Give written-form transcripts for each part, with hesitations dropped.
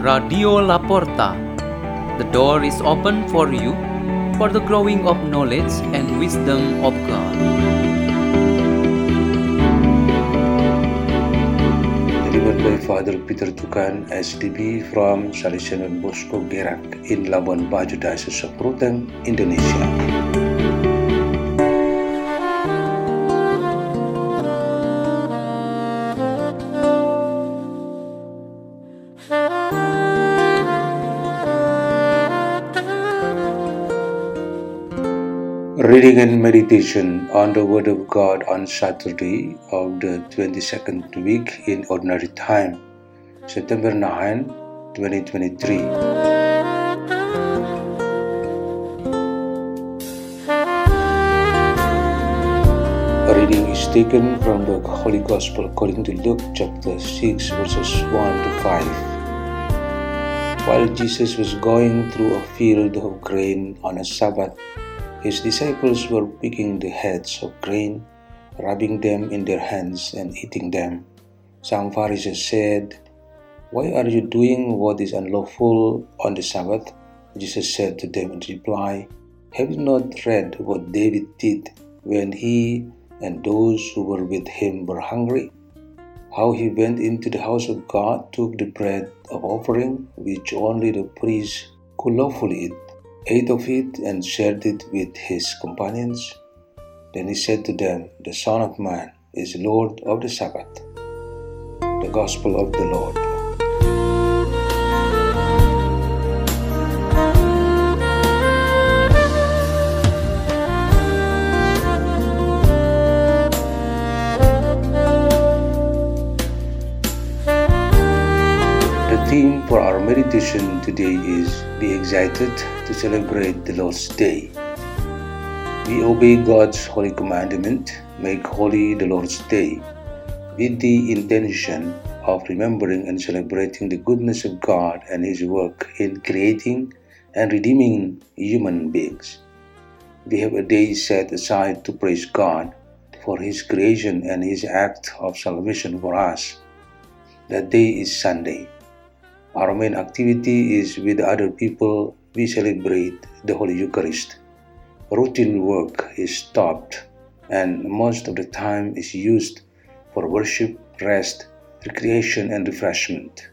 Radio Laporta. The door is open for you for the growing of knowledge and wisdom of God. Delivered by Father Peter Tukan, SDB from Salesian Bosco Gerak in Labuan Bajo, Diocese of Ruteng, Indonesia. Reading and meditation on the Word of God on Saturday of the 22nd week in Ordinary Time, September 9, 2023. A reading is taken from the Holy Gospel according to Luke chapter 6 verses 1 to 5. While Jesus was going through a field of grain on a Sabbath, his disciples were picking the heads of grain, rubbing them in their hands and eating them. Some Pharisees said, "Why are you doing what is unlawful on the Sabbath?" Jesus said to them in reply, "Have you not read what David did when he and those who were with him were hungry? How he went into the house of God, took the bread of offering, which only the priest could lawfully eat, ate of it, and shared it with his companions. Then he said to them, 'The Son of Man is Lord of the Sabbath.'" The Gospel of the Lord. The theme for our meditation today is "Be excited to celebrate the Lord's Day." We obey God's holy commandment, "Make holy the Lord's Day," with the intention of remembering and celebrating the goodness of God and His work in creating and redeeming human beings. We have a day set aside to praise God for His creation and His act of salvation for us. That day is Sunday. Our main activity is with other people. We celebrate the Holy Eucharist. Routine work is stopped, and most of the time is used for worship, rest, recreation, and refreshment.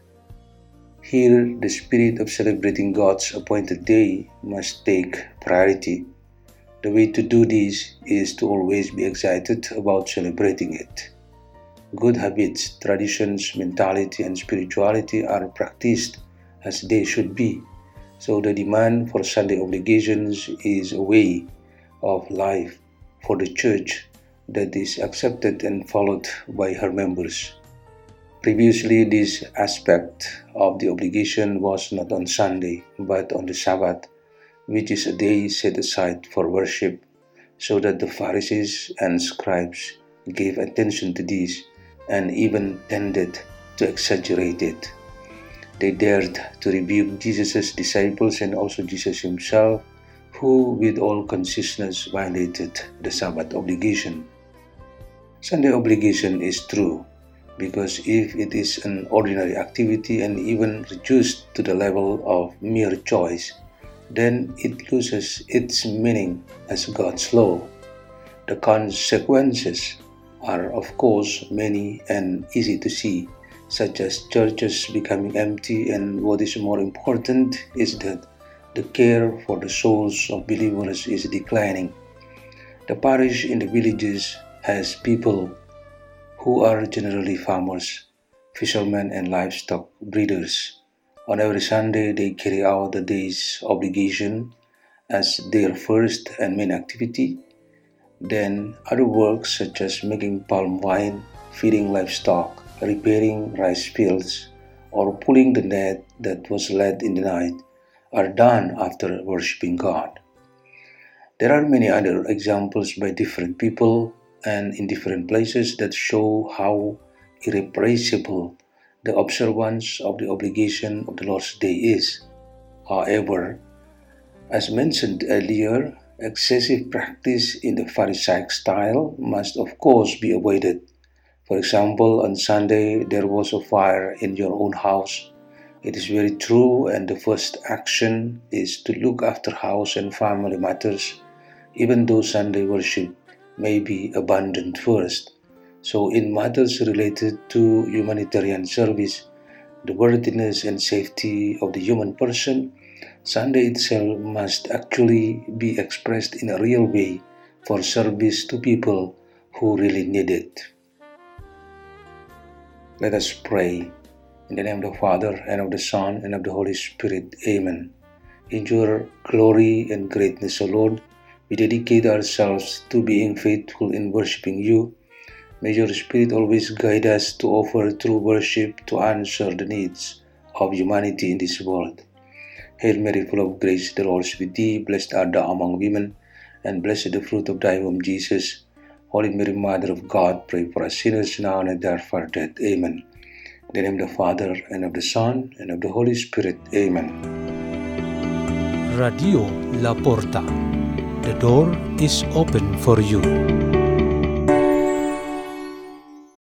Here, the spirit of celebrating God's appointed day must take priority. The way to do this is to always be excited about celebrating it. Good habits, traditions, mentality, and spirituality are practiced as they should be, so the demand for Sunday obligations is a way of life for the Church that is accepted and followed by her members. Previously, this aspect of the obligation was not on Sunday, but on the Sabbath, which is a day set aside for worship, so that the Pharisees and scribes gave attention to this and even tended to exaggerate it. They dared to rebuke Jesus' disciples and also Jesus himself, who with all consciousness violated the Sabbath obligation. Sunday obligation is true, because if it is an ordinary activity and even reduced to the level of mere choice, then it loses its meaning as God's law. The consequences are of course many and easy to see, such as churches becoming empty, and what is more important is that the care for the souls of believers is declining. The parish in the villages has people who are generally farmers, fishermen, and livestock breeders. On every Sunday, they carry out the day's obligation as their first and main activity. Then other works such as making palm wine, feeding livestock, repairing rice fields, or pulling the net that was let in the night are done after worshipping God. There are many other examples by different people and in different places that show how irrepressible the observance of the obligation of the Lord's Day is. However, as mentioned earlier, excessive practice in the Pharisaic style must of course be avoided. For example, on Sunday there was a fire in your own house. It is very true, and the first action is to look after house and family matters, even though Sunday worship may be abandoned first. So, in matters related to humanitarian service, the worthiness and safety of the human person, Sunday itself must actually be expressed in a real way for service to people who really need it. Let us pray. In the name of the Father, and of the Son, and of the Holy Spirit. Amen. In your glory and greatness, O Lord, we dedicate ourselves to being faithful in worshiping you. May your Spirit always guide us to offer true worship to answer the needs of humanity in this world. Hail Mary, full of grace, the Lord is with thee. Blessed art thou among women, and blessed the fruit of thy womb, Jesus. Holy Mary, Mother of God, pray for us sinners now and at the hour of our death. Amen. In the name of the Father, and of the Son, and of the Holy Spirit. Amen. Radio La Porta. The door is open for you.